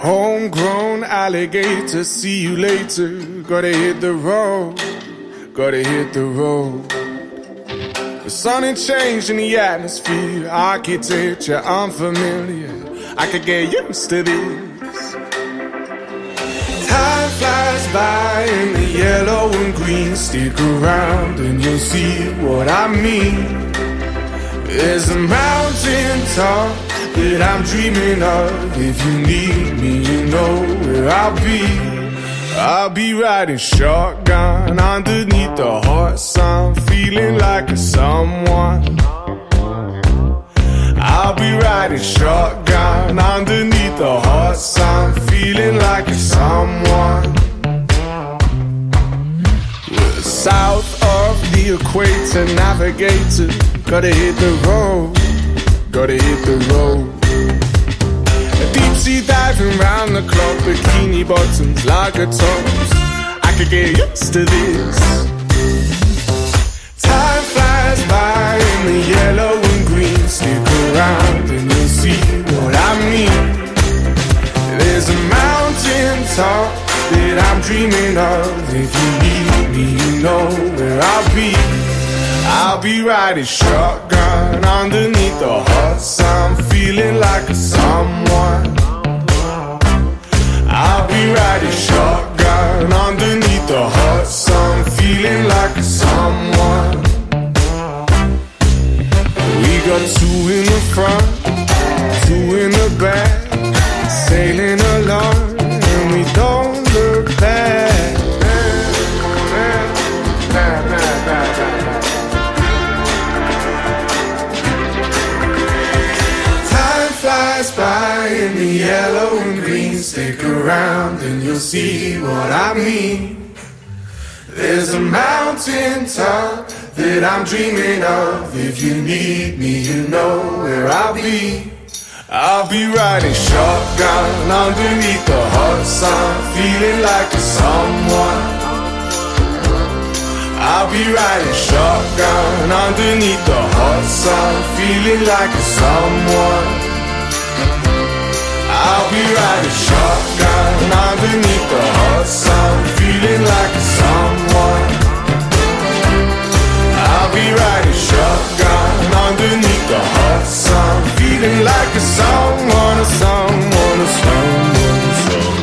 Homegrown alligator, see you later. Gotta hit the road, gotta hit the road. The sun ain't changed in the atmosphere, architecture unfamiliar. I could get used to this. Time flies by in the yellow and green. Stick around and you'll see what I mean. There's a mountain top that I'm dreaming of. If you need me, you know where I'll be. I'll be riding shotgun underneath the hot sun, feeling like a someone. I'll be riding shotgun underneath the hot sun, feeling like a someone. We're south of the equator, navigator. Gotta hit the road, gotta hit the road. Deep sea diving round the clock, bikini bottoms, lager tops. I could get used to this. Time flies by in the yellow and green. Stick around and you'll see what I mean. There's a mountain top that I'm dreaming of. If you need me, you know where I'll be. I'll be riding shotgun underneath the hot sun, feeling like a someone. I'll be riding shotgun underneath the hot sun, feeling like a someone. We got two in the front, two in the back, sailing along and we don't look back. Flies by in the yellow and green. Stick around and you'll see what I mean. There's a mountain top that I'm dreaming of. If you need me, you know where I'll be. I'll be riding shotgun underneath the hot sun, feeling like a someone. I'll be riding shotgun underneath the hot sun, feeling like a someone. I'll be riding shotgun underneath the hot sun, feeling like a someone. I'll be riding shotgun underneath the hot sun, feeling like a someone, a someone, a someone, a someone.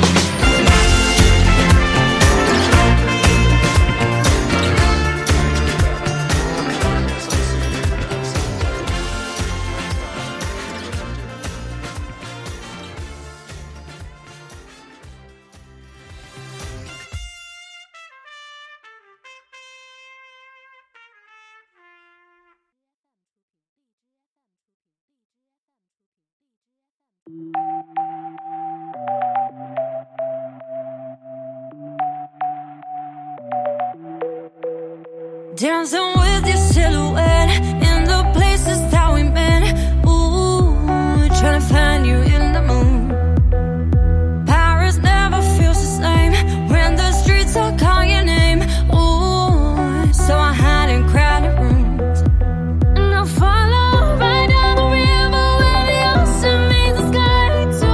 Dancing with your silhouette in the places that we met. Ooh, trying to find you in the moon. Paris never feels the same when the streets all call your name. Ooh, so I hide in crowded rooms and I'll follow right down the river where the ocean meets the sky. To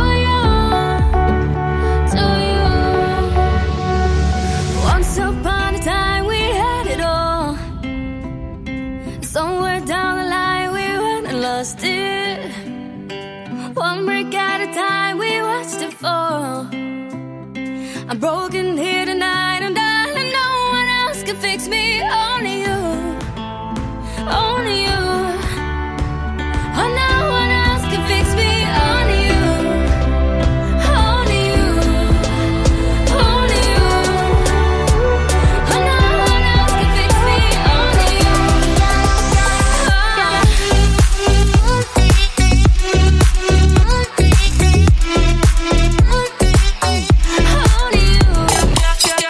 you. Once upon a time we had it all. Somewhere down the line we went and lost it. One break at a time we watched it fall. I'm broken here tonight, and darling, no one else can fix me. Only you, only you. Oh, no one else can fix me. Only you, only you, only you. Oh, no one else can fix me. Only you.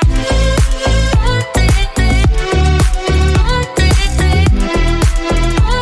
Only you.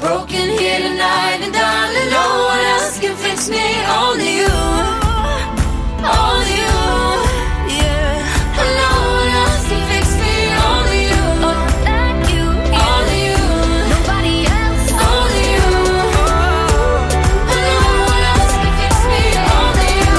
broken here tonight, and darling, no one else can fix me. Only you, only you. Yeah, and no one else can fix me. Only you, like you. Only you, nobody else. Only you, and no one else can fix me. Only you.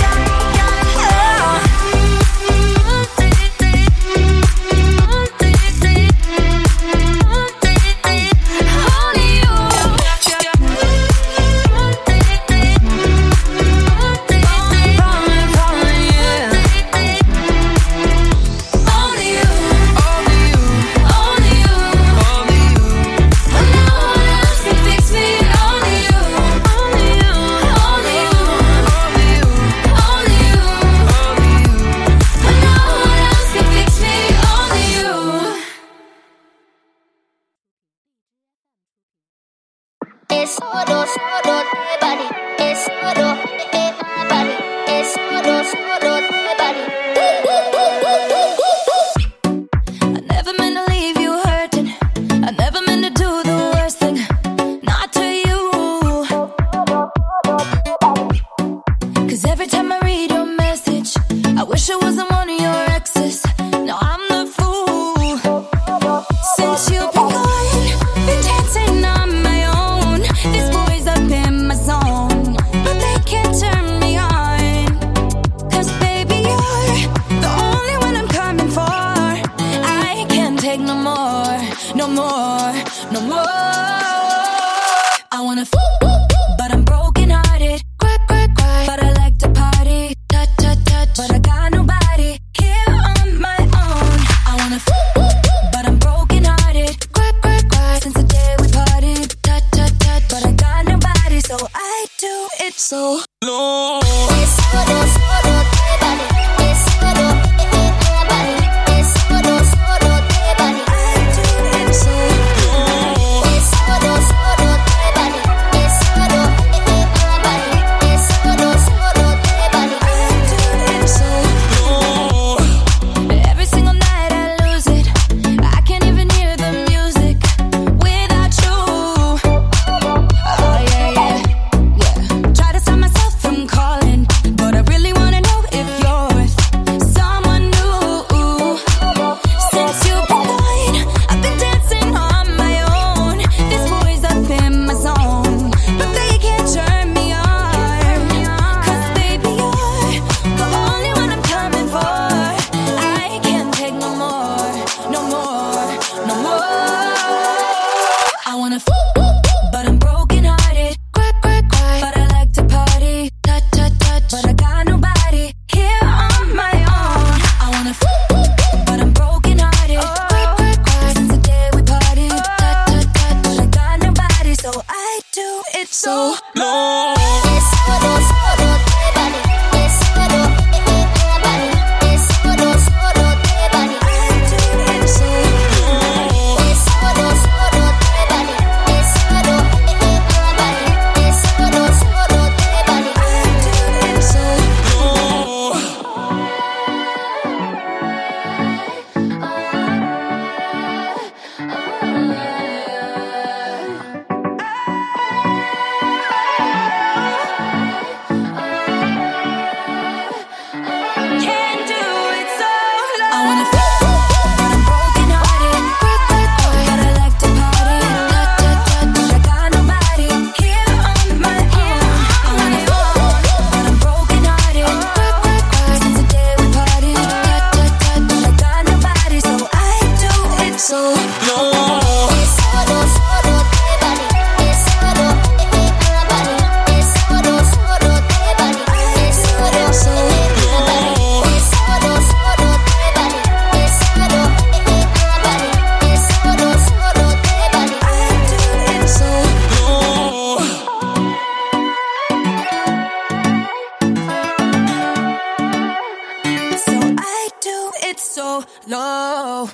low.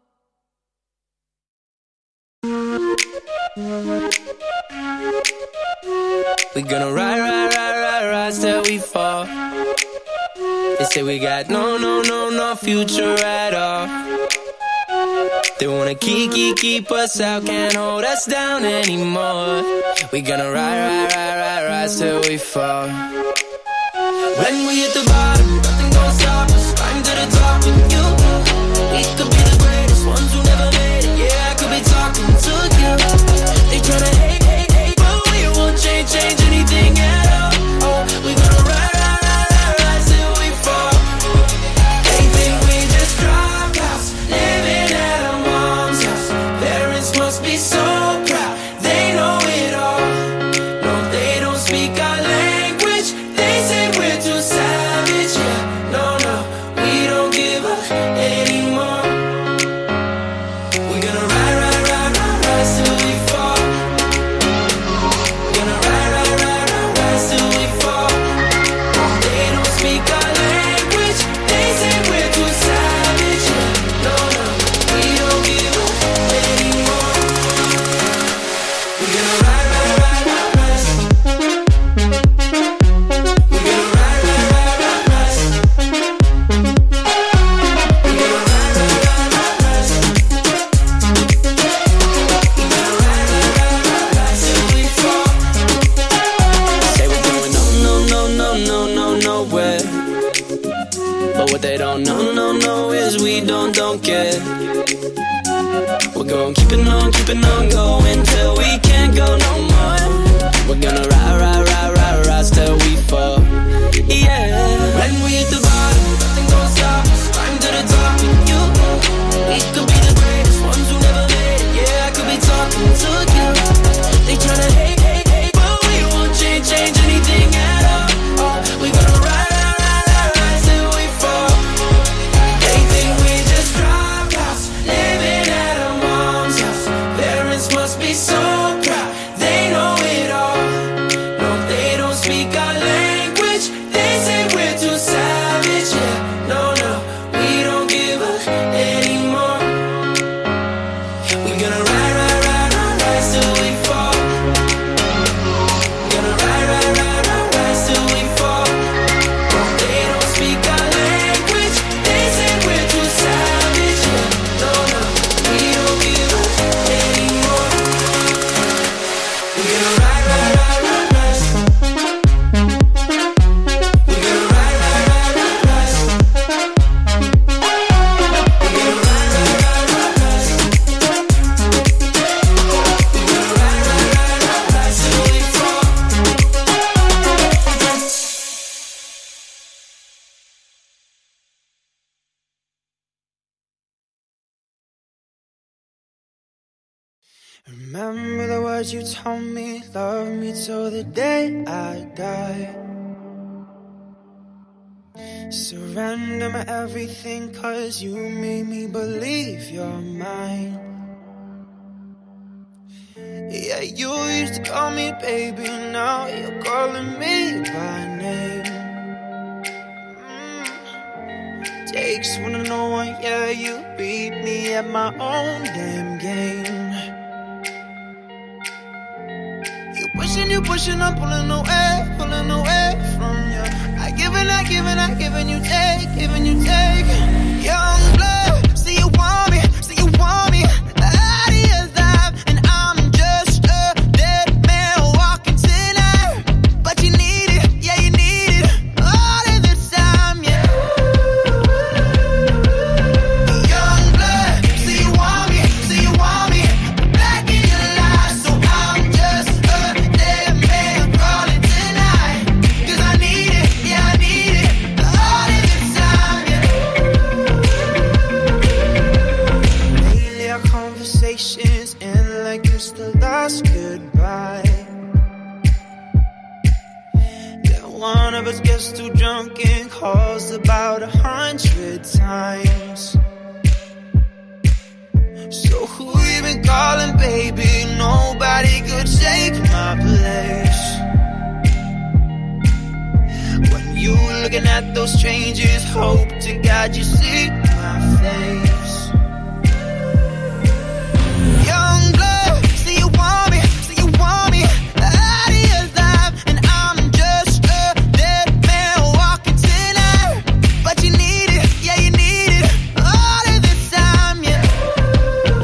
We gonna ride till we fall. They say we got no future at all. They wanna keep us out, can't hold us down anymore. We gonna rise till we fall. When we hit the bottom, nothing gonna stop us. Climb to the top with you. We could be the greatest ones who never made it. Yeah, I could be talking to you. They tryna hate, but we won't change anything at all. Oh, we gonna rise till we fall. They think we just drop house, living at our mom's house. Parents must be so proud, they know it all. No, they don't speak our language. They say we're too savage. Yeah, no, we don't give up anymore. We're gonna rise till we fall. We're gonna rise till we fall. They don't speak our language. They say we're too savage. Yeah, no, we don't give up anymore. We're gonna rise. We're gonna rise. Say we're going nowhere. But what they don't know is we don't care. We're going keeping on going till we can't go no more. We're gonna rise till we fall. Yeah. When we hit the bottom, nothing gonna stop us. Climb to the top with you. We could be the greatest ones who never made it. Yeah, I could be talking to you. They tryna hate, but we won't change anything at all. Oh, we gonna rise till we fall. They think we just dropped house, living at our mom's house. Parents must be so proud, they know it all. No, they don't speak our language. They say we're too savage. Yeah, no, we don't give up anymore. We're gonna rise till we fall. We're gonna rise till we fall. They don't speak our language. They say we're too savage. Yeah, no, we don't give up anymore. We're gonna rise. We're gonna rise. We're gonna rise till we fall. Remember the words you told me, love me till the day I die. Surrender my everything, cause you made me believe you're mine. Yeah, you used to call me baby, now you're calling me by name. Takes one to know one, yeah, you beat me at my own damn game. You pushing, I'm pulling away from you. I giving, you take. Young blood, see you want me, out of your life, and I'm just a dead man walking tonight. But you need it, yeah, you need it, all of the time, yeah. Young blood, see you want me, back in your life, so I'm just a dead man crawling tonight. 'Cause I need it, yeah, I need it, all of the time, yeah. Lately our conversations end like it's the last goodbye. Then one of us gets too drunk and calls about 100 times. So who you been calling, baby? Nobody could take my place. When you looking at those strangers, hope to God you see my face. Young blood, see you want me, out of your life, and I'm just a dead man walking tonight. But you need it, yeah, you need it, all of the time, yeah.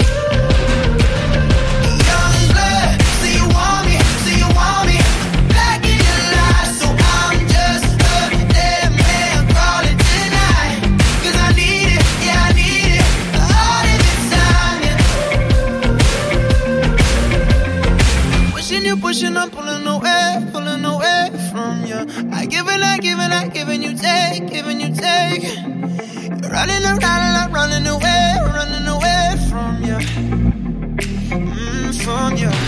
pushing, I'm pulling away from you. I giving you take. You're running around and I'm running away from you. From you.